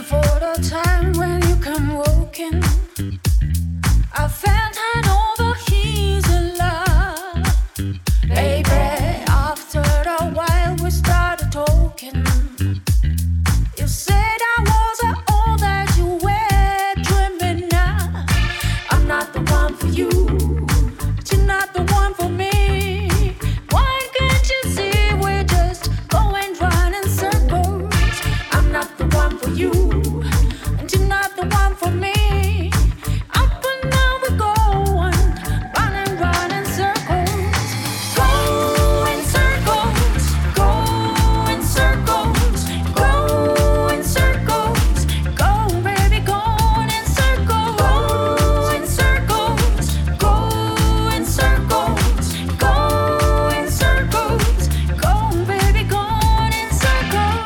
for the time when you come walking. I felt hand over heels a lot. Baby, after a while we started talking. You said I wasn't all that you were dreaming of. I'm not the one for you, but you're not the one for me. Why can't you see we're just going round in circles? I'm not the one for you, and you're not the one for me. Up and down we go on, running round in circles. Go in circles, go in circles, go in circles, go baby, go in circles, go in circles, go in circles, go in circles, go baby, go in circles.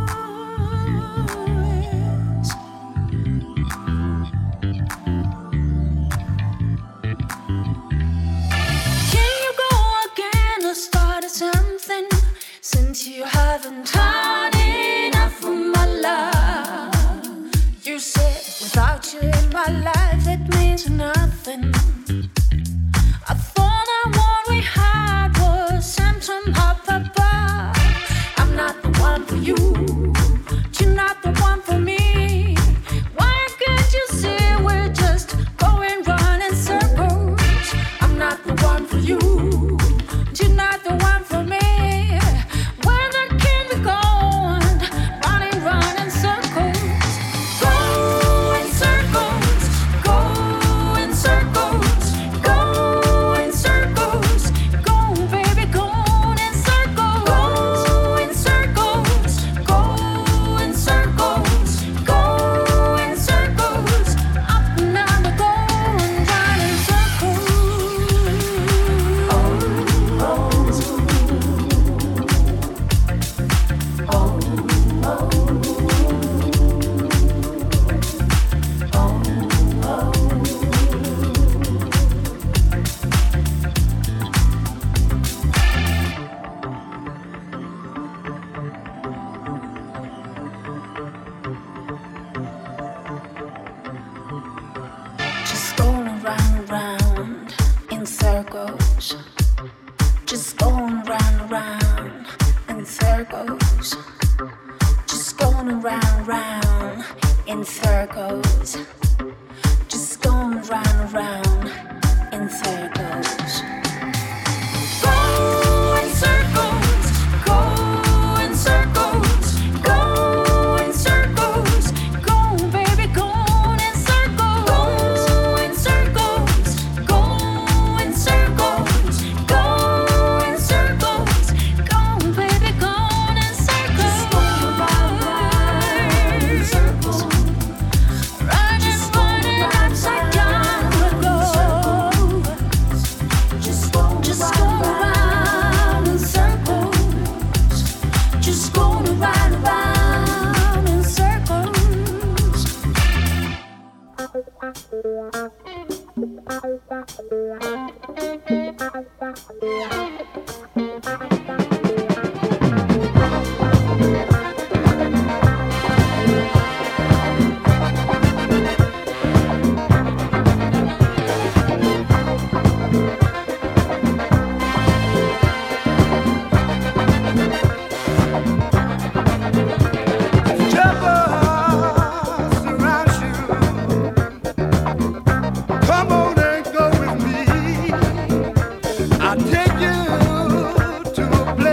Can you go again or start something? Since you haven't had enough of my love. You said without you in my life it means nothing. I thought that what we had was symptom up above. I'm not the one for you, you're not the one for me. Why can't you see we're just going round in circles? I'm not the one for you, you're not the one for me. Where that can we go on, running round in circles? Go in circles, go in circles, go in circles, go baby, go in circles, go in circles, go in circles, go in circles, up and down we go and round in circles. Just going round and round in circles. Just going round and round in circles. Just going round and round in circles. Just going round and round in circles. Go in circles, go in circles, go in circles, go baby, go in circles, go in circles, go in circles, go in circles, go baby, go in circles. Just go round in circles, running upside down we go. Just go around in circles, just go around in circles. Come on and go with me. I'll take you to a place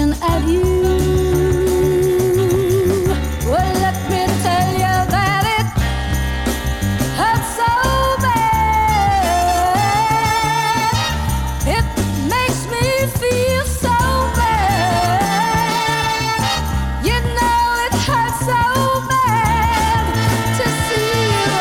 looking at you. Well, let me tell you that it hurts so bad. It makes me feel so bad. You know it hurts so bad to see you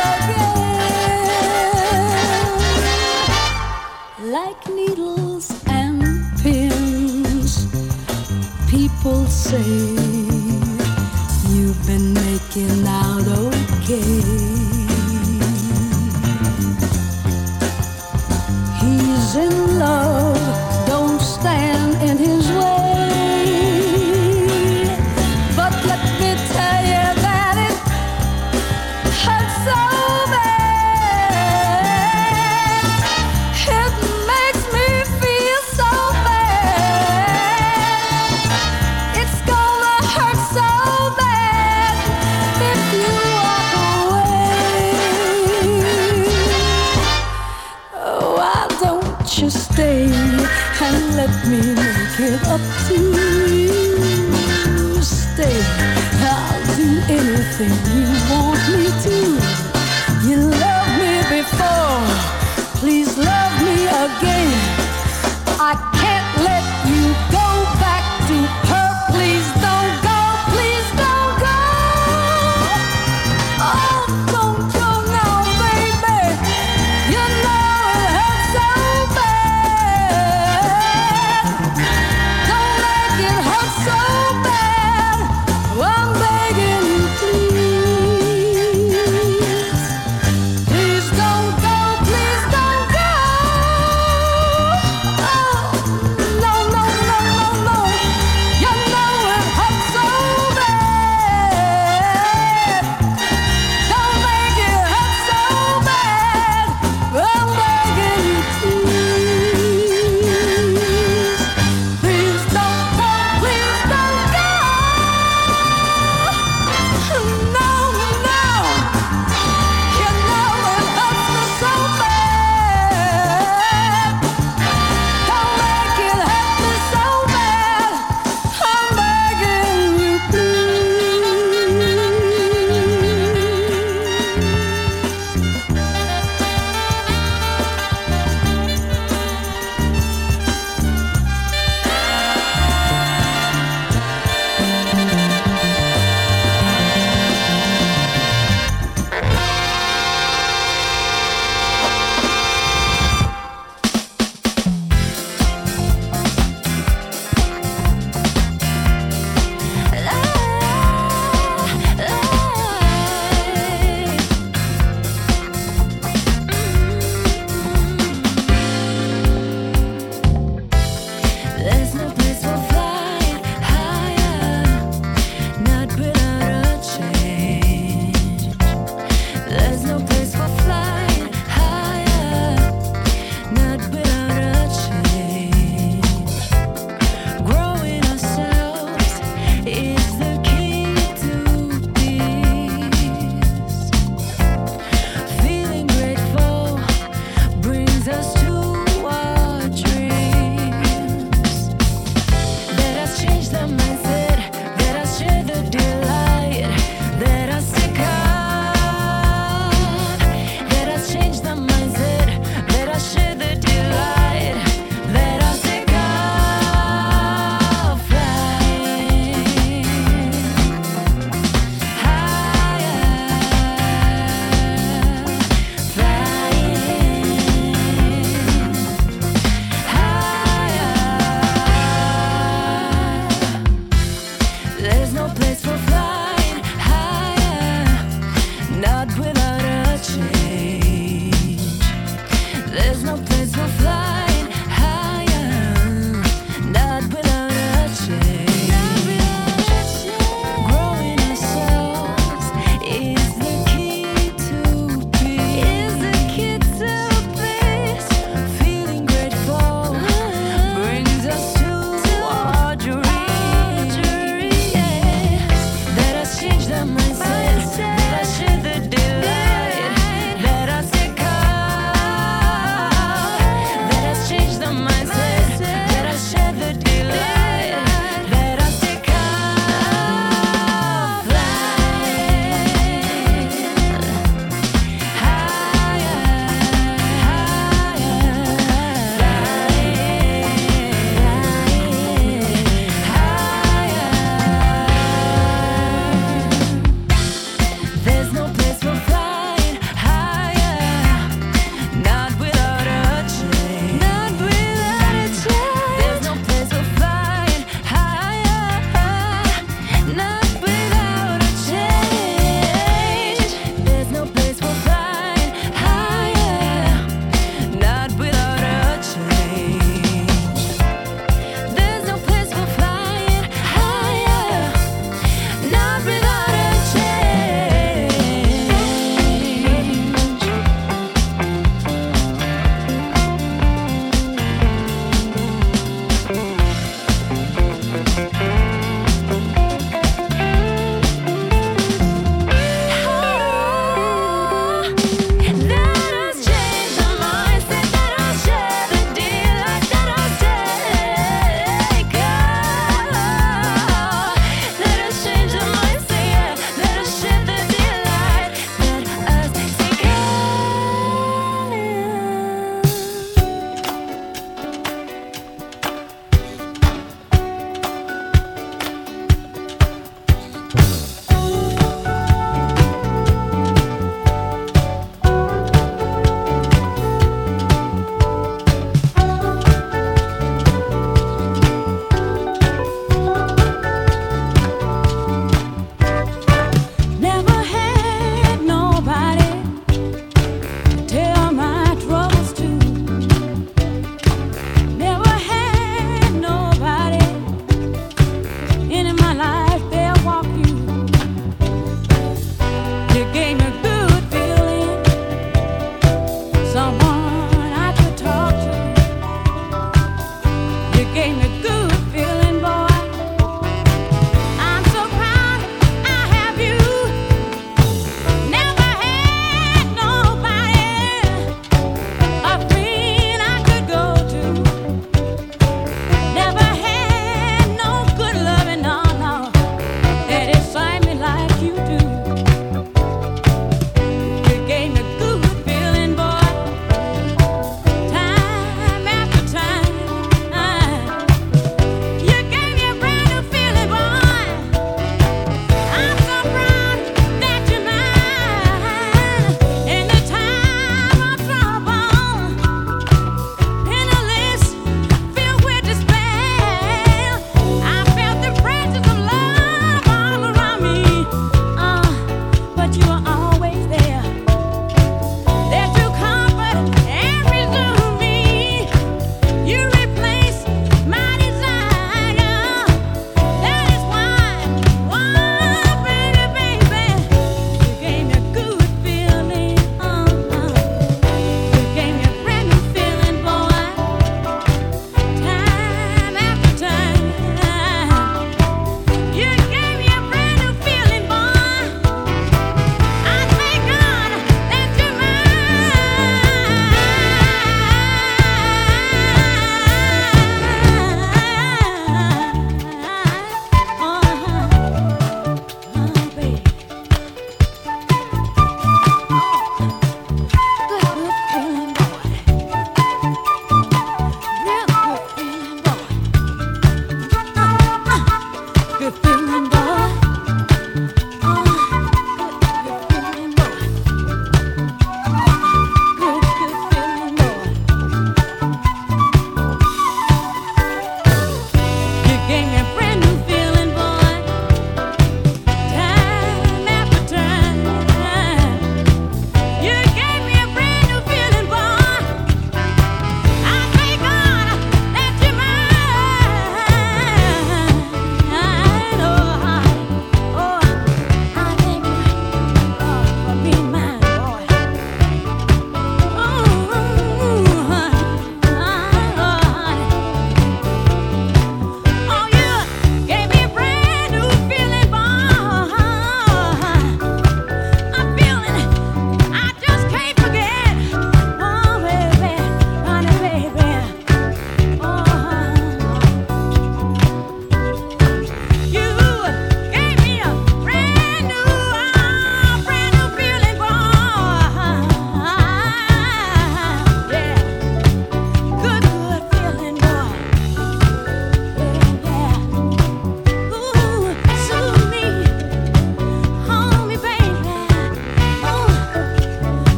again. Like needles and pins, people say you've been making out okay. He's in love, don't stand in his way. But let me tell you that it hurts so bad. It makes me feel so bad. It's gonna hurt so bad if you walk away. Oh, why don't you stay and let me make it up to you? Stay, I'll do anything you want me to. You loved me before, please love me again. I can't let you go back to her. Please don't go, please don't go. Oh, don't go now, baby. You know it hurts so bad. Don't make it hurt so bad. I'm begging you, please.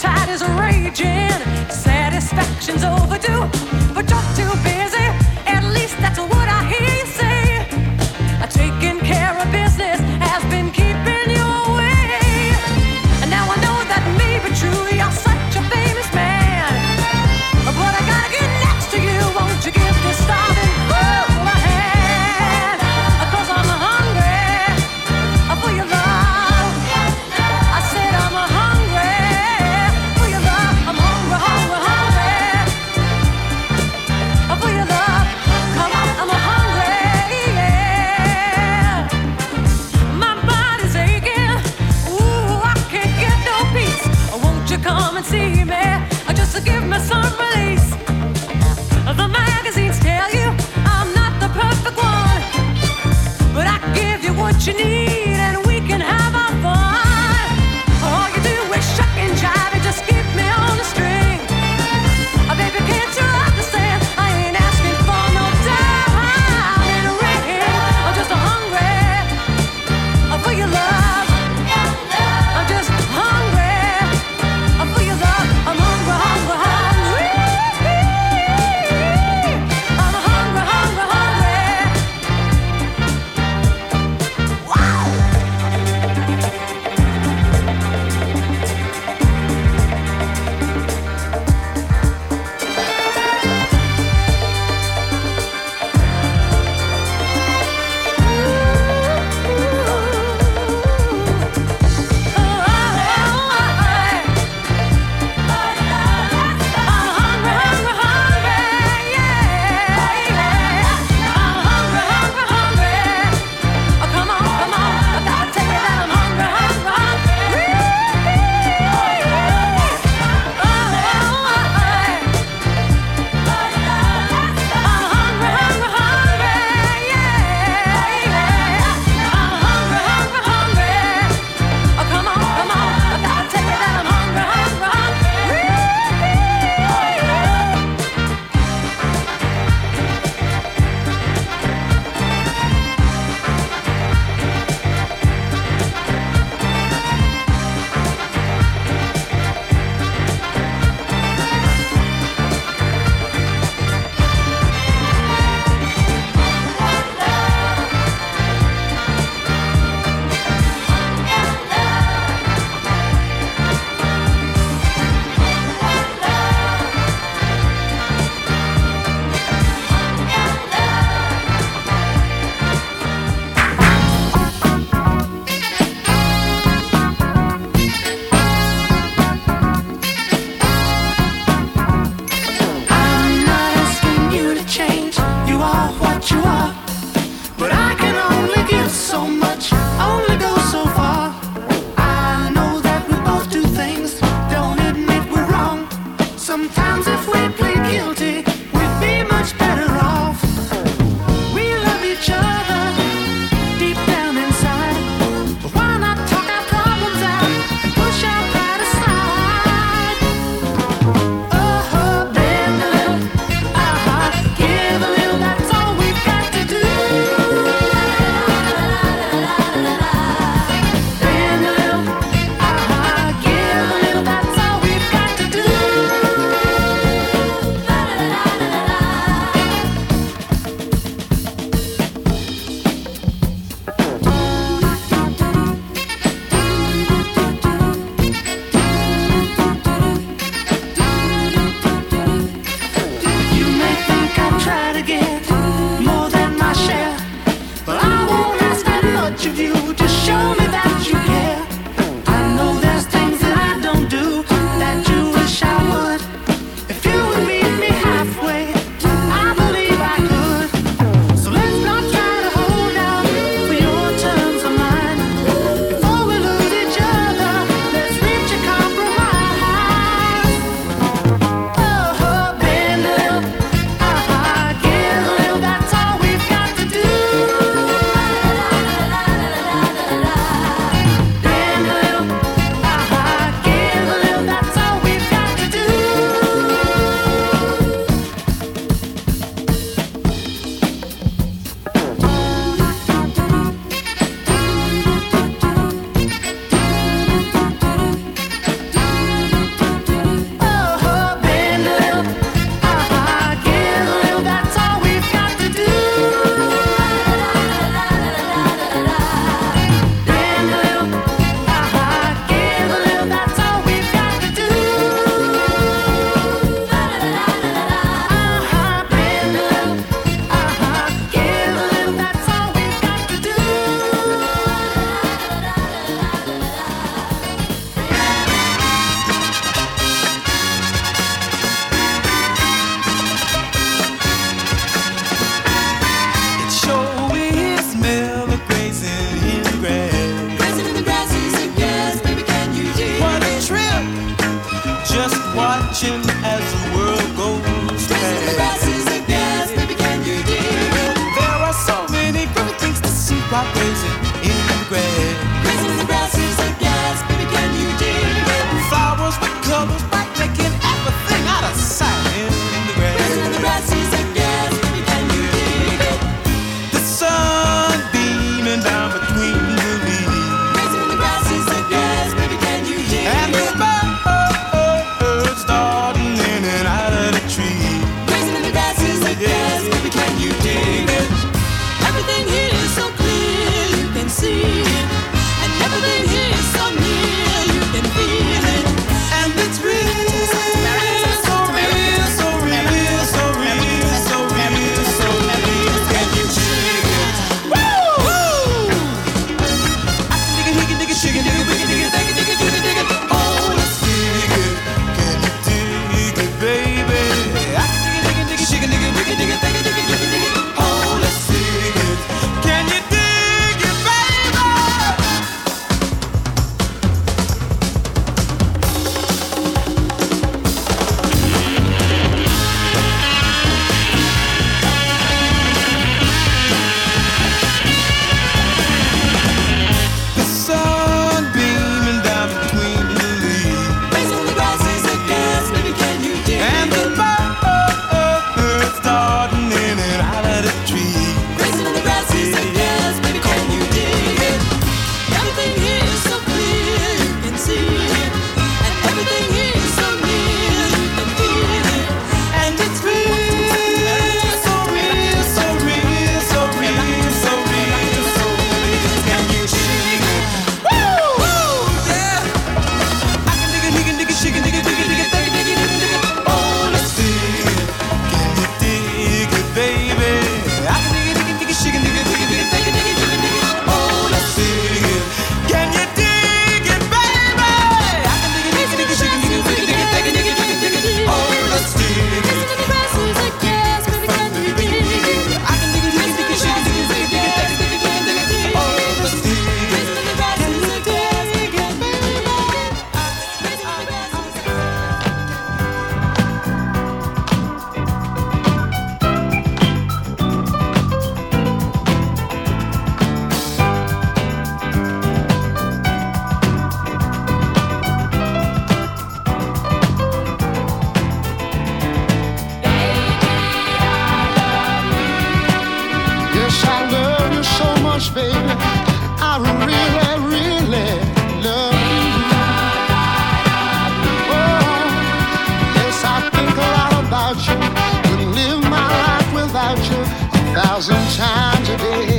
tide is raging, satisfaction's overdue, but you're too busy. At least that's what I hear you say. Taking care of business has been keeping you away. And now I know that may be true. You're such a famous man, but I gotta get next to you. Won't you give this starving fool a hand? 'Cause I'm hungry for your love. I said I'm hungry for your love. I'm hungry, hungry, hungry for your love. Come on, I'm hungry, yeah. My body's aching. Ooh, I can't get no peace. Won't you come and see me? Just to give me some release. The magazines tell you I'm not the perfect one, but I give you what you need and we can have our fun. All you do is shuck and jive and just keep me on the string. Baby, can't you understand? I ain't asking for no diamond ring. I'm just hungry for your love. I'm just hungry for your love. I'm hungry, hungry, hungry. I'm hungry, hungry, hungry. Wow! racing in the grass. Racing in the grass is a gas, baby, can you dig it? Flowers with colors, bright, making everything out of sight in the grass. Racing in the grass is a gas, baby, can you dig it? The sun beaming down between the leaves. Racing in the grass is a gas, baby, can you dig it? And the birds darting in and out of the tree. Racing in the grass is a gas, baby, can you dig it? Everything here is so clear, you can see it. And everything here is so near, you can feel it. And it's real, so real, so real, so real, so real, so real, so real. Can you dig it? Woo! I can dig it, shake it, dig it, dig it, dig it, dig it, dig it, dig it, dig it. Oh, let's dig it. Can you dig it, baby? I can dig it, dig it, shake it, dig it, dig it, dig it, dig it, dig it, dig it, dig it. Oh, let's dig it. Can you dig it, baby? The sun beaming down between the leaves. Racing the grass is a gas, baby, can you dig it? And the birds darting in and out of the tree. Racing in the grass is a gas, baby, can you dig it? Everything here is so clear, you can see it. And everything here is so near, you can feel it. And it's real, so real, so real, so real, so real, so real. Can you dig it? Woo! Yeah! I can dig it, shake it, dig it, dig it, dig it, dig it, dig it, dig it, dig it. Oh, let's dig it. Can you dig it, baby? I can dig it, shake it, dig it, dig it, dig it, dig it, dig it, dig it, dig it. Oh, let's dig it. Can you dig it, baby? I can dig it, shake it, dig it, dig it, dig it, dig it, dig it, dig it, dig it. Oh, let's dig it. Racing in the grass is a gas, baby, can you dig it? I can dig it, shake it, dig it, dig it, dig it, dig it, dig it, dig it, dig it. Oh, let's dig it. Racing in the grass is a gas, baby, can you dig it? Racing in the grass is a Yes, I love you so much, baby. I really, really love you. Oh, yes, I think a lot about you. Could live my life without you 1,000 times a day.